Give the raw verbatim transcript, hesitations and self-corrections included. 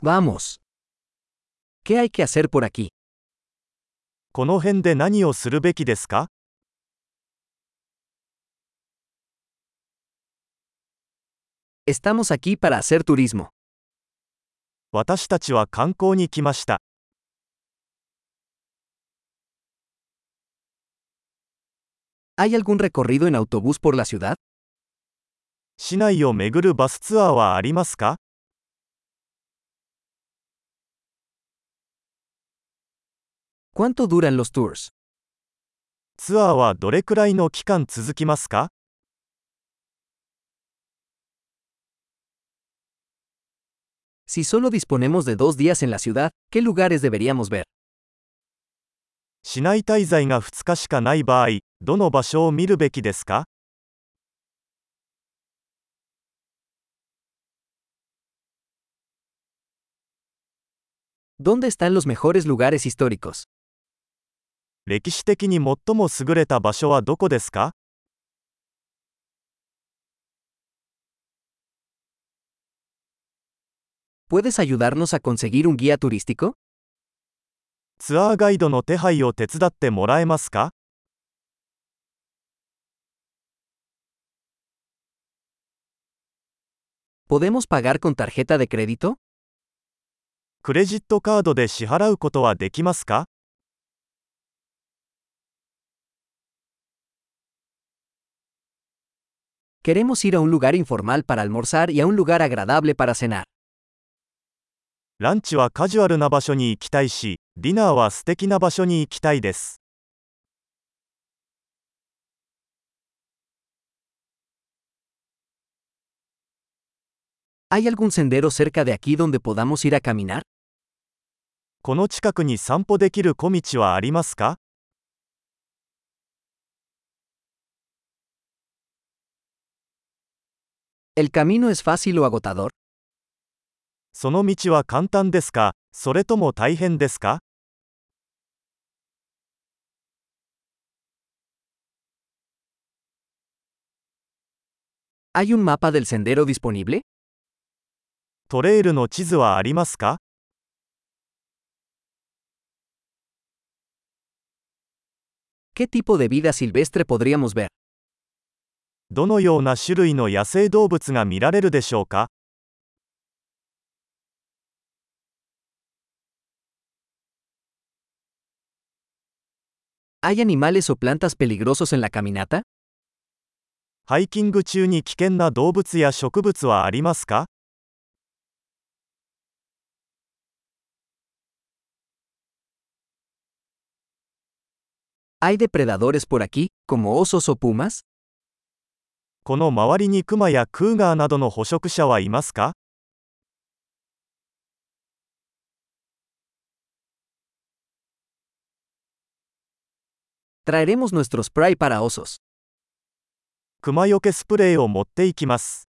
Vamos. ¿Qué hay que hacer por aquí? この辺で何をするべきですか？ Estamos aquí para hacer turismo. 私たちは観光に来ました。 ¿Hay algún recorrido en autobús por la ciudad? 市内を巡るバスツアーはありますか？ ¿Cuánto duran los tours? ツアーはどれくらいの期間続きますか？ Si solo disponemos de dos días en la ciudad, ¿qué lugares deberíamos ver? 市内滞在がふつかしかない場合、どの場所を見るべきですか？ ¿Dónde están los mejores lugares históricos? 歴史的に最も優れた場所はどこですか？ ¿Puedes ayudarnos a conseguir un guía turístico? ツアーガイドの手配を手伝ってもらえますか？ ¿Podemos pagar con tarjeta de crédito? クレジットカードで支払うことはできますか？ Queremos ir a un lugar informal para almorzar y a un lugar agradable para cenar. ランチはカジュアルな場所に行きたいし、ディナーは素敵な場所に行きたいです。 ¿Hay algún sendero cerca de aquí donde podamos ir a caminar? この近くに散歩できる小道はありますか？ ¿El camino es fácil o agotador? その道は簡単ですか、それとも大変ですか？ ¿Hay un mapa del sendero disponible? トレイルの地図はありますか？ ¿Qué tipo de vida silvestre podríamos ver? どのような種類の野生動物が見られるでしょうか？ ¿Hay animales o plantas peligrosos en la caminata? ハイキング中に危険な動物や植物はありますか？ ¿Hay depredadores por aquí, como osos o pumas? この周りにクマやクーガーなどの捕食者はいますか？ Traeremos nuestro spray para osos. クマよけスプレーを持っていきます。